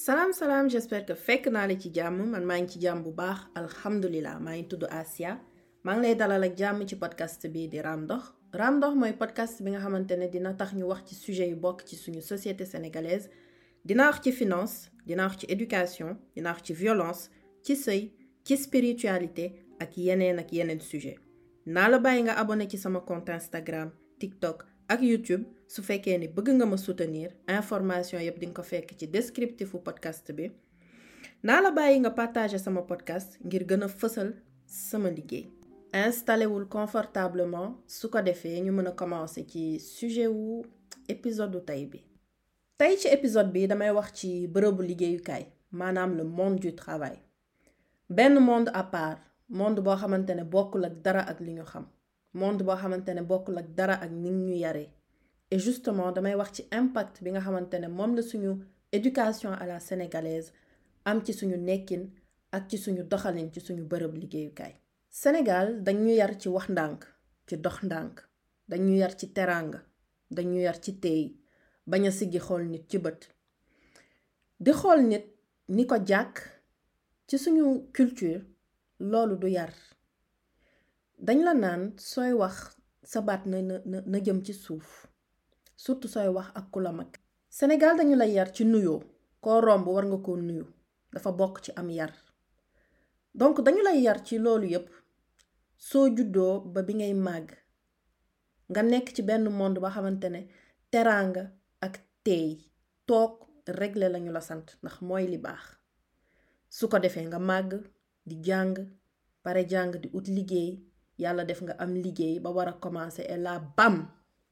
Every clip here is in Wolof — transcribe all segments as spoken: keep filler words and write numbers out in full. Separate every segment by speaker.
Speaker 1: salaam salaam j'espère que fekk naa la ci jàmm man maa ngi ci jàmm bu baax alhamdulilah maa ngi tudd Asia maa ngi lay dalal ak jàmm ci podcast bi di Raam Ndox Raam Ndox mooy podcast bi nga xamante ne dina tax ñu wax ci sujet yu bokk ci suñu société sénégalaise dina wax ci finance dina wax ci éducation dina wax ci violence ci sëy ci spiritualité ak yeneen ak yeneen sujet naa la bàyyi nga abonné ci sama compte Instagram TikTok ak YouTube su fekkee ni bëgg nga ma soutenir information yëpp di nga ko fekk ci descriptifu podcast bi naa la bàyyi nga partager sama podcast ngir gën a fësal sama liggéey. installé wul confortablement su ko defee ñu mën a commencer ci sujet wu épisode tey bi. tey ci épisode bi damay wax ci bërëbu liggéeyukaay maanaam le monde du travail benn monde à part monde boo xamante ne bokkul ak dara ak li ñu xam. monde boo xamante ne bokkul ak dara ak ni ñu yaree et justement damay wax ci impact bi nga xamante ne moom la suñu éducation à la sénégalaise am ci suñu nekkin ak ci suñu doxalin ci suñu bërëb liggéeyukaay. Sénégal dañu yar ci wax ndànk ci dox ndànk dañu yar ci teraanga dañu yar ci teey bañ a siggi xool nit ci bët di xool nit ni ko jàkk ci suñu culture loolu du yar. dañ la naan sooy wax sa baat na na na jëm ci suuf surtout sooy wax ak ku la mag. Sénégal dañu lay yar ci nuyoo koo romb war nga koo nuyu dafa bokk ci am yar donc dañu lay yar ci loolu yépp soo juddoo ba bi ngay màgg nga nekk ci benn monde ba xamante ne teraanga ak teey toog régler lañu la sant ndax mooy li baax su ko defee nga màgg di jàng pare jàng di ut liggéey. yàlla def nga am liggéey ba war a commencer et là bam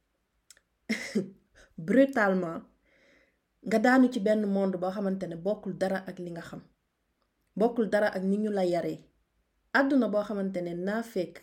Speaker 1: brutalement nga daanu ci benn monde boo xamante ne bokkul dara ak li nga xam bokkul dara ak ni ñu la yaree àdduna boo xamante ne naa fekk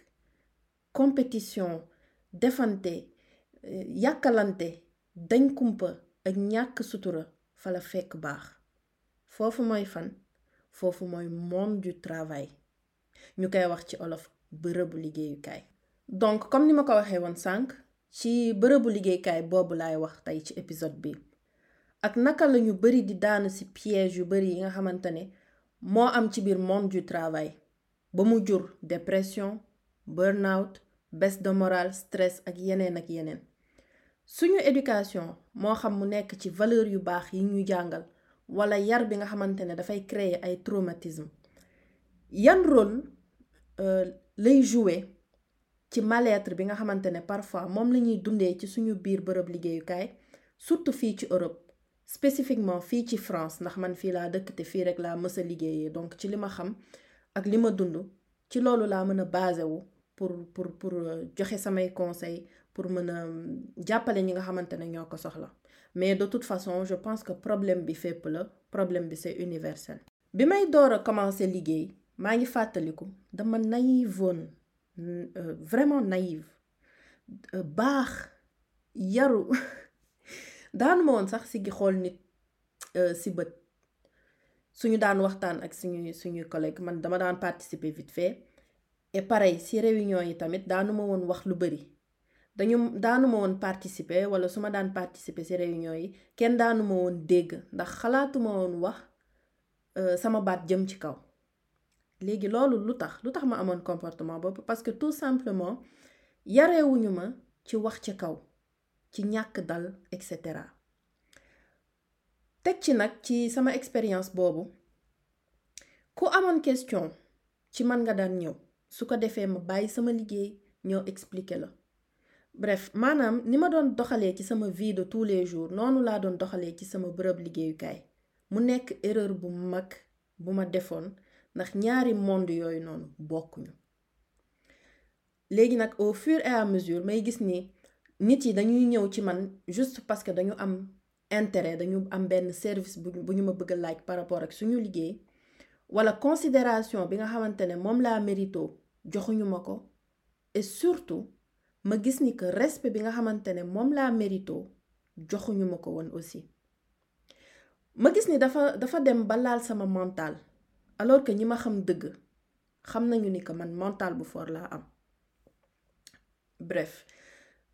Speaker 1: compétition defante yàkkalante dañ kumpa ak ñàkk sutura fa la fekk baax foofu mooy fan foofu mooy monde du travail ñu koy wax ci olof bërëbu liggéeyukaay. donc comme ni ma ko waxee woon sànq ci bërëbu liggéeyukaay boobu laay wax tey ci épisode bi ak naka la ñu bari di daanu ci piège yu bari yi nga xamante ne moo am ci biir monde du travail ba mu jur dépression burn-out baisse de morale stress ak yeneen ak yeneen suñu éducation moo xam mu nekk ci valeur yu baax yi ñu jàngal wala yar bi nga xamante ne dafay créer ay traumatisme yan rôle euh, lay jouer ci mal-être bi nga xamante ne parfois moom la ñuy dundee ci suñu biir bërëb liggéeyukaay surtout fii ci Europe spécifiquement fii ci France ndax man fii laa dëkk te fii rek laa mës a liggéeyee donc ci li ma xam ak li ma dund ci loolu laa mën a basé wu pour pour pour joxe samay conseils pour mën a jàppale ñi nga xamante ne ñoo ko soxla mais de toute façon je pense que problème bi fépp la problème bi c'est universel. bi may door a commencer liggéey maa ngi fàttaliku dama naïve woon euh, vraiment naïve euh, baax yaru daanu ma woon sax si gi xool nit euh, si bët suñu daan waxtaan ak suñu suñuy collègue man dama daan participer vite fait et pareil si réunion yi tamit daanu ma woon wax lu bari dañu daanu ma woon participer wala su ma daan participer si réunion yi kenn daanu ma woon dégg ndax xalaatuma woon wax euh, sama baat jëm ci kaw. léegi loolu lu tax lu tax ma amoon comportement boobu parce que tout simplement yarewuñu ma ci wax ci kaw ci ñàkk dal et cetera teg ci nag ci sama expérience boobu ku amoon question ci man nga daan ñëw su ko defee ma bàyyi sama liggéey ñëw expliquer la bref maanaam ni ma doon doxalee ci sama vie de tous les jours noonu laa doon doxalee ci sama bërëb liggéeyukaay mu nekk erreur bu mag bu ma defoon ndax ñaari monde yooyu noonu bokkuñu léegi nag au fur et à mesure may gis ni nit yi dañuy ñëw ci man juste parce que dañu am intérêt dañu am benn service bu bu ñu ma bëgg a laaj par rapport ak suñu liggéey wala considération bi nga xamante ne moom laa mérito joxuñu ma ko et surtout ma gis ni que respect bi nga xamante ne moom laa mérito joxuñu ma ko woon aussi ma gis ni dafa dafa dem ba laal sama mental alors que ñi ma xam dëgg xam nañu ni que man mental bu fort laa am bref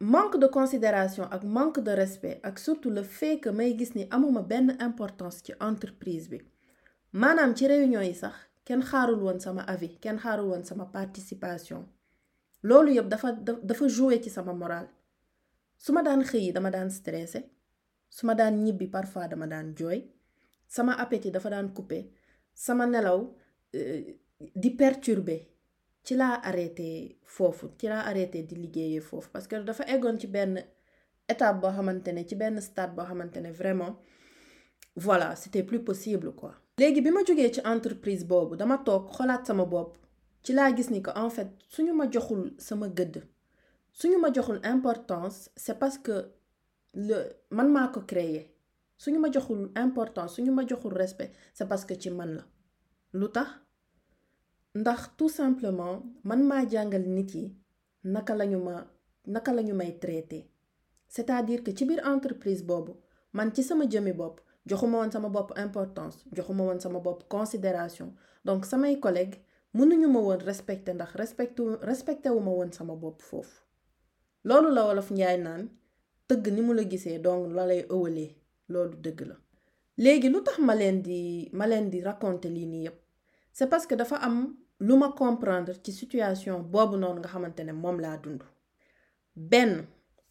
Speaker 1: manque de considération ak manque de respect ak surtout le fait que may gis ni amuma benn importance ci entreprise bi maanaam ci réunion yi sax kenn xaarul woon sama avis kenn xaarul woon sama participation loolu yëpp dafa dafa jouer ci sama moral su ma daan xëyi dama daan stressé su ma daan ñibbi parfois dama daan jooy sama appétit dafa daan coupé sama nelaw di perturbé ci laa arrêté foofu ci laa arrêté di liggéeyee foofu parce que dafa eggoon ci benn étape boo xamante ne ci benn stade boo xamante ne vraiment voilà c'était plus possible quoi. léegi bi ma jógee ci entreprise boobu dama toog xolaat sama bopp ci laa gis ni que en fait suñu ma joxul sama gëdd suñu ma joxul importance c'est parce que le man maa ko créé suñu ma joxul importance suñu ma joxul respect c'est parce que ci man la lu tax ndax tout simplement man maa jàngal nit yi naka lañu ma naka lañu may traité c'est-à-dire que ci biir entreprise boobu man ci sama jëmi bopp joxuma woon sama bopp importance joxuma woon sama bopp considération donc samay collègues mënuñu ma woon respecté ndax respecté respecté wu ma woon sama bopp foofu loolu la wolof njaay naan tëgg ni mu la gisee donc la lay ëwalee loolu dëgg la. léegi lu tax ma leen di ma leen di raconter lii nii yépp c'est parce que dafa am lu ma comprendre ci situation boobu noonu nga xamante ne moom laa dund. benn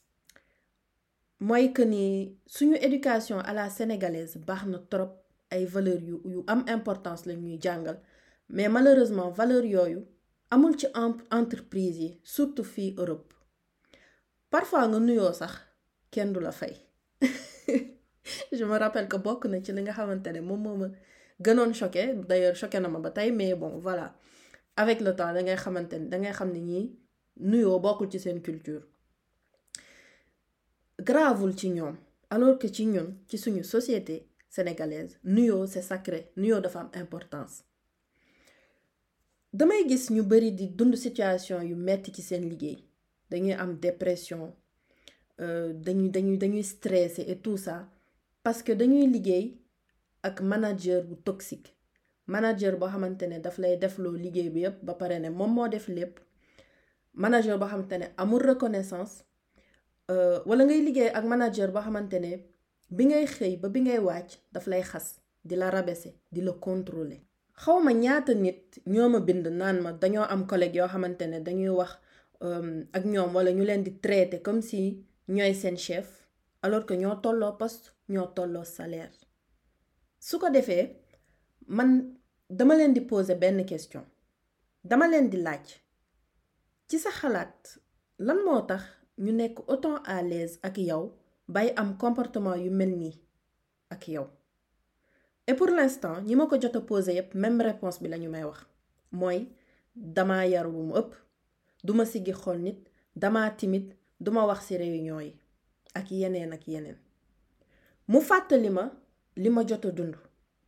Speaker 1: mooy que ni suñu éducation à la sénégalaise baax na trop ay valeurs yu yu am importance la ñuy jàngal mais malheureusement valeurs yooyu amul ci entreprise yi surtout fii Europe parfois nga nuyoo sax kenn du la fay. je me rappelle que bokk na ci li nga xamante ne moom moo ma gënoon choqué d'ailleurs choqué na ma ba tey mais bon voilà avec le temps da ngay xamante ne dangay xam ne ñii nuyoo bokkul ci seen culture. gravul ci ñoom alors que ci ñun ci suñu société sénégalaise nuyoo c'est sacré nuyoo dafa am importance. damay gis ñu bari di dund situation yu metti ci seen liggéey dañuy am dépression dañuy dañuy dañuy stressé et tout ça parce que dañuy liggéey ak manager bu toxique manager boo xamante ne daf lay defloo liggéey bi yépp ba pare ne moom moo def lépp manager boo xamante ne amul reconnaissance wala ngay liggéey ak manager boo xamante ne bi ngay xëy ba bi ngay wàcc daf lay xas di la rabaisser di la contrôler. xawma ñaata nit ñoo ma bind naan ma dañoo am collègue yoo xamante ne dañuy wax ak ñoom wala ñu leen di traiter comme si ñooy seen chef alors que ñoo tolloo poste ñoo tolloo salaire. su ko defee man dama leen di poser benn question dama leen di laaj ci sa xalaat lan moo tax ñu nekk autant à l'aise ak yow bay am comportement yu mel nii ak yow. et pour l'instant ñi ma ko jot a poser yépp même réponse bi lañu may wax mooy dama yaru bu mu ëpp duma siggi xool nit dama timide duma wax ci réunion yi ak yeneen ak yeneen. mu fàttali ma li ma jot a dund.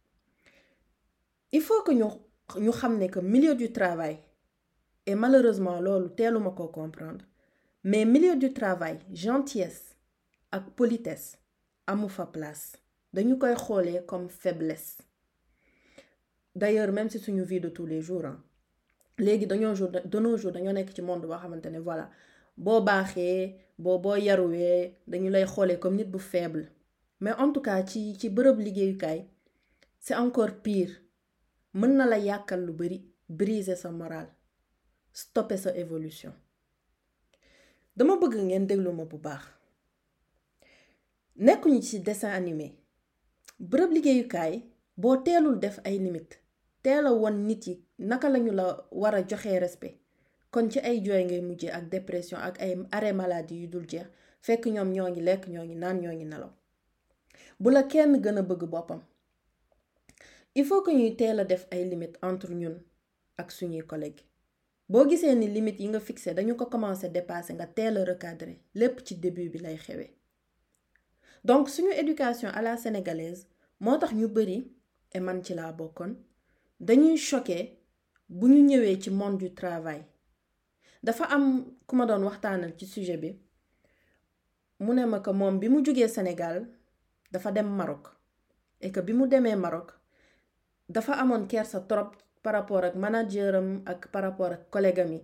Speaker 1: il faut que ñu ñu xam ne que milieu du travail et malheureusement loolu teeluma ko comprendre mais milieu du travail gentillesse ak politesse amu fa place. dañu koy xoolee comme faiblesse d'ailleurs même si suñu vie de tous les jours ah léegi dañoo jour de nos jours dañoo nekk ci monde boo xamante ne voilà boo baaxee boo boo yaruwee dañu lay xoolee comme nit bu faible mais en tout cas ci ci bërëb liggéeyukaay c'est encore pire mën na la yàkkal lu bari briser sa morale stopper sa évolution. dama bëgg ngeen déglu ma bu baax nekkuñu ci dessin animé. bërëb liggéeyukaay boo teelul def ay limite teel a won nit yi naka lañu la war a joxee respect kon ci ay jooy ngay mujjee ak dépression ak ay arrêt maladie yu dul jeex fekk ñoom ñoo ngi lekk ñoo ngi naan ñoo ngi nelaw. bu la kenn gën a bëgg boppam il faut que ñuy teel a def ay limite entre ñun ak suñuy collègues boo gisee ni limite yi nga fixé dañu ko commencé dépasser nga teel a recadrer lépp ci début bi lay xewee. donc suñu éducation à la sénégalaise moo tax ñu bari et man ci laa bokkoon dañuy choqué bu ñu ñëwee ci monde du travail. dafa am ku ma doon waxtaanal ci sujet bi mu ne ma que moom bi mu jógee Sénégal dafa dem Maroc et que bi mu demee Maroc dafa amoon kersa trop par rapport ak manageram ak par rapport ak collègue am yi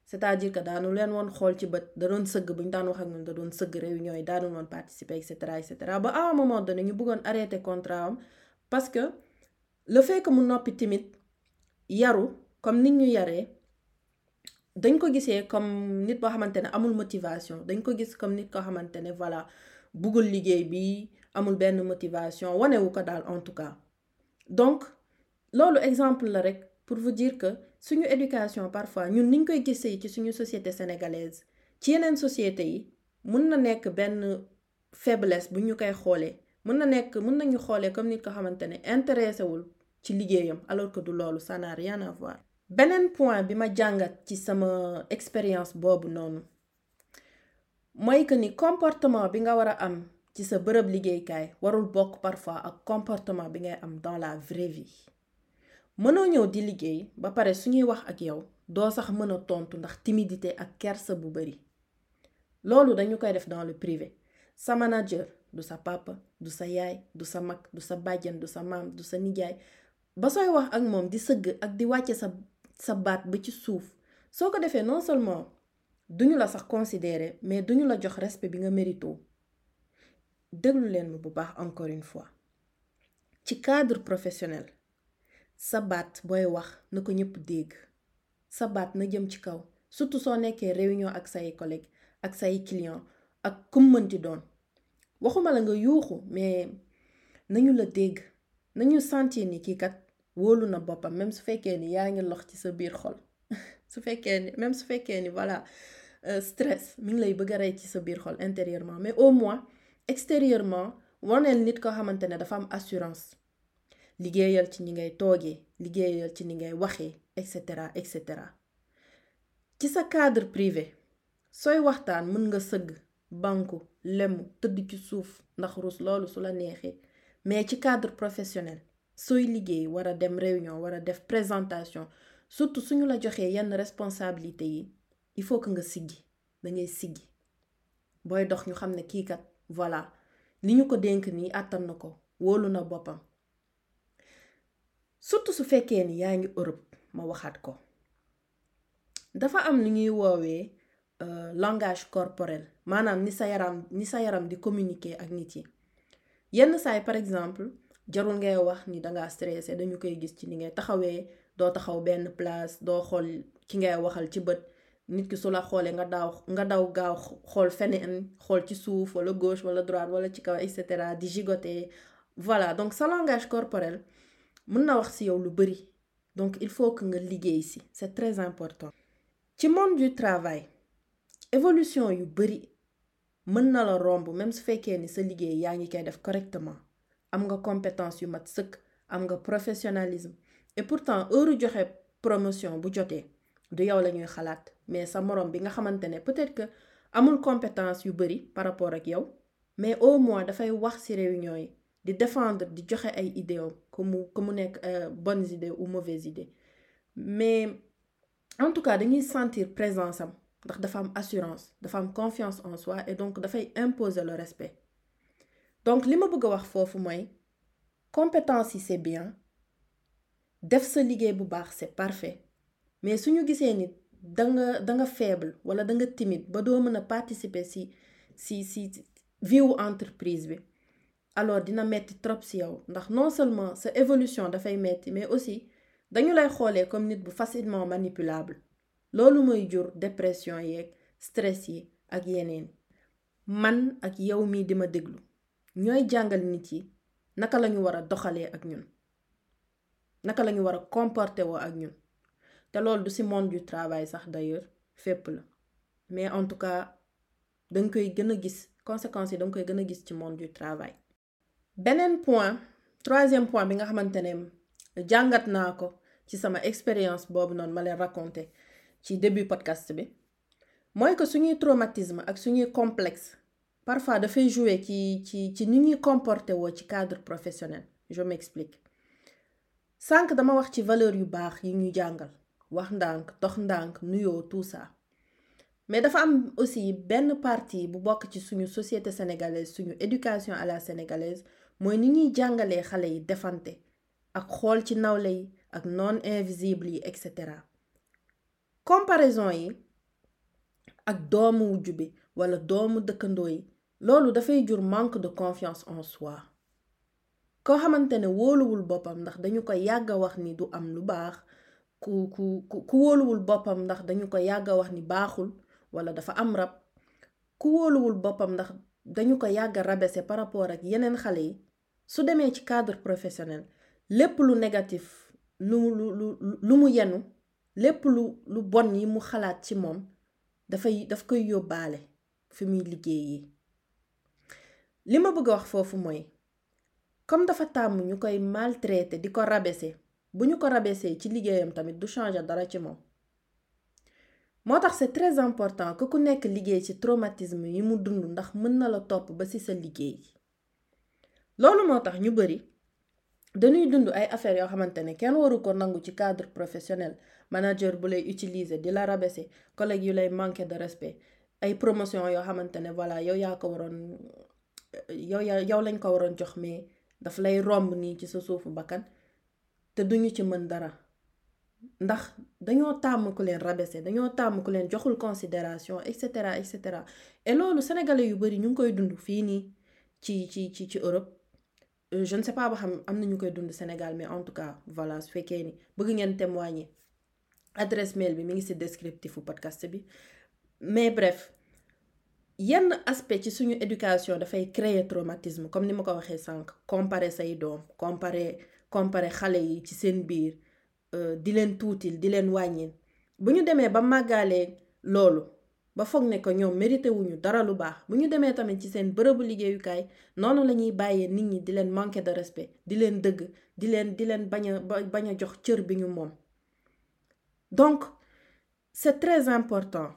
Speaker 1: c'est-à-dire que daanu leen woon xool ci bët da doon sëgg bu ñu daan wax ak ñun da doon sëgg réunion yi daanu woon participer et cetera et cetera ba à un moment donné ñu bëggoon arrêter contrat am parce que le fait que mu noppi timide yaru comme nit ñu yaree dañ ko gisee comme nit boo xamante ne amul motivation dañ ko gis comme nit koo xamante ne voilà bëggul liggéey bi amul benn motivation wanewu ko daal en tout cas donc loolu exemple la rek pour vous dire que suñu éducation parfois ñun niñ koy gisee ci suñu société sénégalaise ci yeneen société yi mun na nekk benn faiblesse bu ñu koy xoolee mun na nekk mun nañu xoolee comme nit ko xamante ne intéressé wul ci liggéeyam alors que du loolu ça n'a rien à voir. beneen point bi ma jàngat ci sama expérience boobu noonu mooy que ni comportement bi nga war a am ci sa bërëb liggéeykaay warul bokk parfois ak comportement bi ngay am dans la vraie vie. mënoo ñëw di liggéey ba pare suñuy wax ak yow doo sax mën a tontu ndax timidité ak kersa bu bari loolu dañu koy def dans le privé. sa manager du sa papa du sa yaay du sa mag du sa bàjjan du sa maam du sa nijaay ba sooy wax ak moom di sëgg ak di wàcce sa sa baat ba ci suuf soo ko defee non seulement duñu la sax considérer mais duñu la jox respect bi nga mérito. déglu leen ma bu baax encore une fois ci cadre professionnel sa baat booy wax na ko ñëpp dégg sa baat na jëm ci kaw surtout soo nekkee réunion ak say collègues ak say clients ak kum mënti doon waxuma la nga yuuxu mais nañu la dégg nañu sentir ni kii kat wóolu na boppam même su fekkee ni yaa ngi lox ci sa biir xol su fekkee ni même su fekkee ni voilà euh, stress mi ngi lay bëgg a rey ci sa biir xol intérieurement mais au moins extérieurement waneel nit ko xamante ne dafa am assurance liggéeyal ci ñi ngay toogee liggéeyal ci ni ngay waxee et cetera et cetera. ci sa cadre privé sooy waxtaan mën nga sëgg banku lemu tëdd ci suuf ndax rus loolu su la neexee mais ci cadre professionnel sooy liggéey war a dem réunion war a def présentation surtout suñu la joxee yenn responsabilité yi il faut que nga siggi da ngay siggi booy dox ñu xam ne kii kat voilà li ñu ko dénk nii àttan na ko wóolu na boppam. surtout su fekkee ni yaa ngi Europe ma waxaat ko dafa am lu ñuy woowee euh, langage corporel maanaam ni sa yaram ni sa yaram di communiquer ak nit yi yenn saay par exemple jarul ngay wax ni dangaa stressé dañu koy gis ci ni ngay taxawee doo taxaw benn place doo xool ki ngay waxal ci bët nit ki su la xoolee nga daaw nga daw gaaw xool feneen xool ci suuf wala gauche wala droite wala ci kaw et cetera di gigoter voilà donc sa langage corporel mën na wax ci yow lu bari donc il faut que nga liggéey ci c'est très important. ci monde du travail évolution yu bari mën na la romb même su fekkee ni sa liggéey yaa ngi koy def correctement am nga compétence yu mat sëkk am nga professionnalisme et pourtant heure joxe promotion bu jotee du yow la ñuy xalaat mais sa morom bi nga xamante ne peut-être que amul compétence yu bari par rapport ak yow mais au moins dafay wax ci réunion yi di défendre di joxe ay idées comme mu comme mu nekk bonnes idées ou mauvaises idées mais en tout cas dañuy sentir présence am ndax dafa am assurance dafa am confiance en soi et donc dafay imposer le respect. donc li ma bëgg a wax foofu mooy compétence yi c'est bien def sa liggéey bu baax c'est parfait mais suñu gisee ni danga danga faible wala danga timide ba doo mën a participer ci ci ci vie wu entreprise bi alors dina metti trop ci yow ndax non seulement sa évolution dafay metti mais aussi dañu lay xoolee comme nit bu facilement manipulable loolu mooy jur dépression yeeg stress yi ak yeneen. man ak yow mii di ma déglu ñooy jàngal nit yi naka lañu war a doxalee ak ñun naka lañu war a comporter woo ak ñun te loolu du ci monde du travail sax d'ailleurs fépp la mais en tout cas danga koy gën a gis conséquences yi danga koy gën a gis ci monde du travail. beneen point troisième point bi nga xamante ne jàngat naa ko ci sama expérience boobu noonu ma leen raconté ci début podcast bi mooy que suñuy traumatisme ak suñuy complexe parfois dafay jouer ci ci ci ni ñuy comporter woo ci cadre professionnel. je m'explique. sànq dama wax ci valeur yu baax yi ñu jàngal wax ndànk dox ndànk nuyoo tout ça mais dafa am aussi benn partie bu bokk ci suñu société sénégalaise suñu éducation à la sénégalaise mooy ni ñuy jàngalee xale yi defante ak xool ci nawle yi ak non invisible yi et cetera. comparaison yi ak doomu wujju bi wala doomu dëkkandoo yi loolu dafay jur manque de confiance en soi koo xamante ne wóoluwul boppam ndax dañu ko yàgg a wax ni du am lu baax ku ku ku wóoluwul boppam ndax dañu ko yàgg a wax ni baaxul wala dafa am rab ku wóoluwul boppam ndax dañu ko yàgg a rabaisser par rapport ak yeneen xale yi su demee ci cadre professionnel lépp lu négatif lu lu lu lu mu yenu lépp lu lu bon yi mu xalaat ci moom dafay daf koy yóbbaale fi muy liggéeyee li ma bëgg a wax foofu mooy comme dafa tàmm ñu koy maltraiter di ko rabaisser bu ñu ko rabaisser ci liggéeyam tamit du changer dara ci moom moo tax c'est très important que ku nekk liggéey ci traumatisme yi mu dund ndax mën na la topp ba ci sa liggéey loolu moo tax ñu bari dañuy dund ay affaires yoo xamante ne kenn waru ko nangu ci cadre professionnel manager bu lay utiliser di la rabaisser collègue yu lay manquer de respect ay promotion yoo xamante ne voilà yow yaa ko waroon yow yaa yow lañ ko waroon jox mais daf lay romb nii ci sa suufu bakkan te duñu ci mën dara ndax dañoo tàmm ku leen rabaisser dañoo tàmm ku leen joxul considération et cetera et cetera et loolu sénégalais yu bari ñu ngi koy dund fii nii ci ci ci ci Europe je ne sais pas ba xam am na ñu koy dund Sénégal mais en tout cas voilà su fekkee ni bëgg ngeen témoigner adresse mail bi mi ngi ci descriptifu podcast bi mais bref yenn aspect ci suñu éducation dafay créer traumatisme comme ni ma ko waxee sànq comparer say doom comparer comparer xale yi ci seen biir di leen tuutil di leen wàññil bu ñu demee ba màggaalee loolu ba foog ne ko ñoom mérité wuñu dara lu baax bu ñu demee tamit ci seen bërëbu liggéeyukaay noonu la ñuy bàyyee nit ñi di leen manquer de respect di leen dëgg di leen di leen bañ a bañ a jox cër bi ñu moom donc c'est très important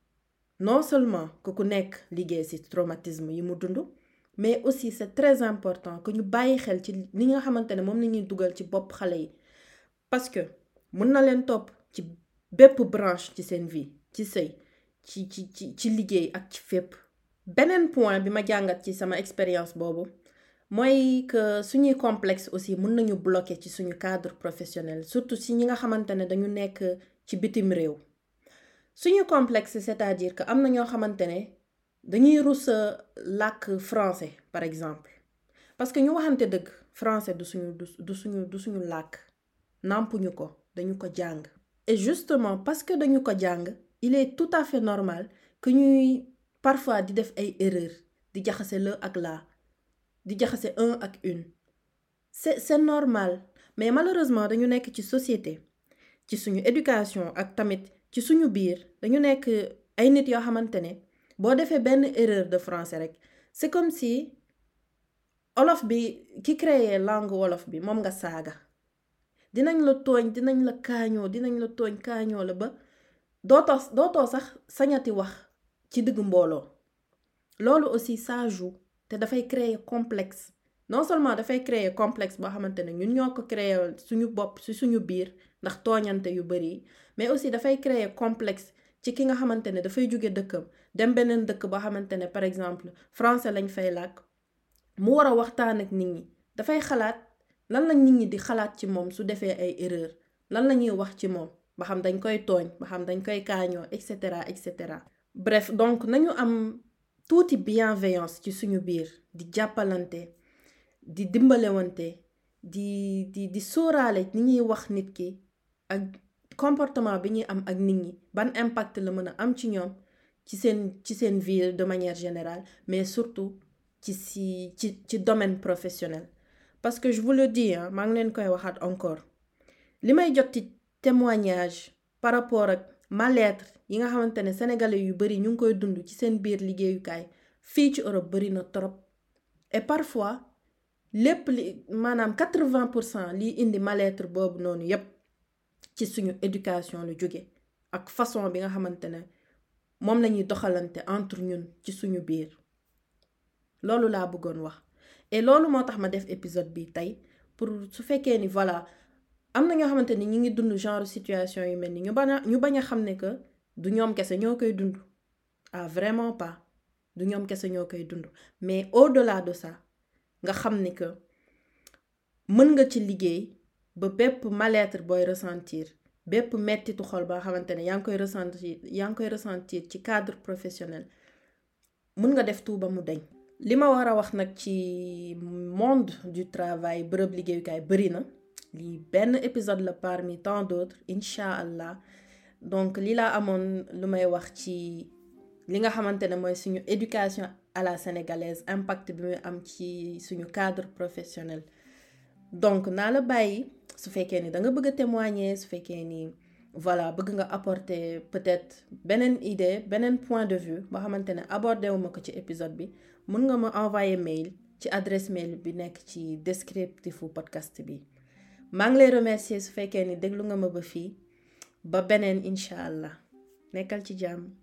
Speaker 1: non seulement que ku nekk liggéey ci traumatisme yi mu dund mais aussi c'est très important que ñu bàyyi xel ci li nga xamante ne moom la ñuy dugal ci bopp xale yi parce que mën na leen topp ci bépp branche ci seen vie ci sëy ci ci ci ci liggéey ak ci fépp beneen point bi ma jàngat ci sama expérience boobu mooy que suñuy complexe aussi mën nañu bloquer ci suñu cadre professionnel surtout si ñi nga xamante ne dañu nekk ci bitim réew suñu complexe c'est-à-dire que am na ñoo xamante ne dañuy rus a làkk français par exemple parce que ñu waxante dëgg français du suñu du suñu du suñu làkk nàmpuñu ko dañu ko jàng et justement parce que dañu ko jàng il est tout à fait normal que ñuy parfois di def ay erreurs di jaxase le ak la di jaxase un ak une c'est c'est normal mais malheureusement dañu nekk ci société ci suñu éducation ak tamit ci suñu biir dañu nekk ay nit yoo xamante ne boo defee benn erreur de français rek c'est comme si wolof bi ki créé langue wolof bi moom nga saaga dinañ la tooñ dinañ la kaañoo dinañ la tooñ kaañoo la ba dootoo dootoo sax sañati wax ci diggu mbooloo loolu aussi ça joue te dafay créer complexe non seulement dafay créer complexe boo xamante ne ñun ñoo ko créer suñu bopp ci suñu biir ndax tooñante yu bari mais aussi dafay créer complexe ci ki nga xamante ne dafay jóge dëkkam dem beneen dëkk boo xamante ne par exemple français lañ fay làkk mu war a waxtaan ak nit ñi dafay xalaat lan la nit ñi di xalaat ci moom su defee ay erreur lan la ñuy wax ci moom ba xam dañ koy tooñ ba xam dañ koy kaañoo et cetera et cetera bref donc nañu am tuuti bienveillance ci suñu biir di jàppalante di dimbalewante di di di sóoraale ni ñuy wax nit ki ak comportement bi ñuy am ak nit ñi ban impact la mën a am ci ñoom ci seen ci seen vie de manière générale mais surtout ci si ci ci domaine professionnel parce que je vous le dis ah maa ngi leen koy waxaat encore li may jot ci témoignage par rapport ak mal-être yi nga xamante ne sénégalais yu bari ñu ngi koy dund ci seen biir liggéeyukaay fii ci Europe bari na trop et parfois lépp li maanaam quatre-vingts pour cent liy indi mal-être boobu noonu yépp ci suñu éducation lu jóge ak façon bi nga xamante ne moom lañuy doxalante entre ñun ci suñu biir loolu laa bëggoon wax et loolu moo tax ma def épisode bi tey pour su fekkee ni voilà am na ñoo xamante ni ñi ngi dund genre situation yu mel ni ñu bañ a ñu bañ a xam ne que du ñoom kese ñoo koy dund ah vraiment pas du ñoom kese ñoo koy dund mais au-delà de ça nga xam ni que mën nga ci liggéey ba bépp mal-être booy ressentir bépp mettitu xol boo xamante ne yaa ngi koy ressentir yaa ngi koy ressentir ci cadre professionnel mun nga def tout ba mu deñ li ma war a wax nag ci monde du travail bërëb liggéeyukaay bëri na lii benn épisode la parmi tant d'autres incha allah donc li laa amoon lu may wax ci li nga xamante ne mooy suñu éducation à la sénégalaise impact bi muy am ci suñu cadre professionnel donc naa la bàyyi su fekkee ni da nga bëgg a témoigner su fekkee ni voilà bëgg nga apporter peut-être beneen idée beneen point de vue boo xamante ne abordé wu ma ko ci épisode bi mun nga ma envoyer mail ci adresse mail bi nekk ci descriptifu podcast bi maa ngi lay remercier su fekkee ni déglu nga ma ba fii ba beneen incha allah nekkal ci jàmm.